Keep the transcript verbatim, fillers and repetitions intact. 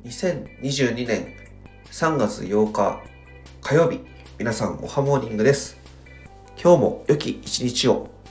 にせんにじゅうにねんさんがつようか火曜日、皆さんおはモーニングです。今日も良き一日を。